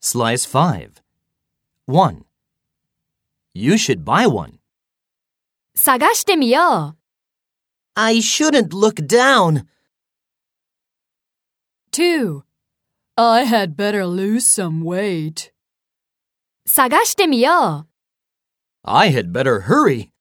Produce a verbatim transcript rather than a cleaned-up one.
Slice five. one. You should buy one. 探してみよう。 I shouldn't look down. two. I had better lose some weight. 探してみよう。 I had better hurry.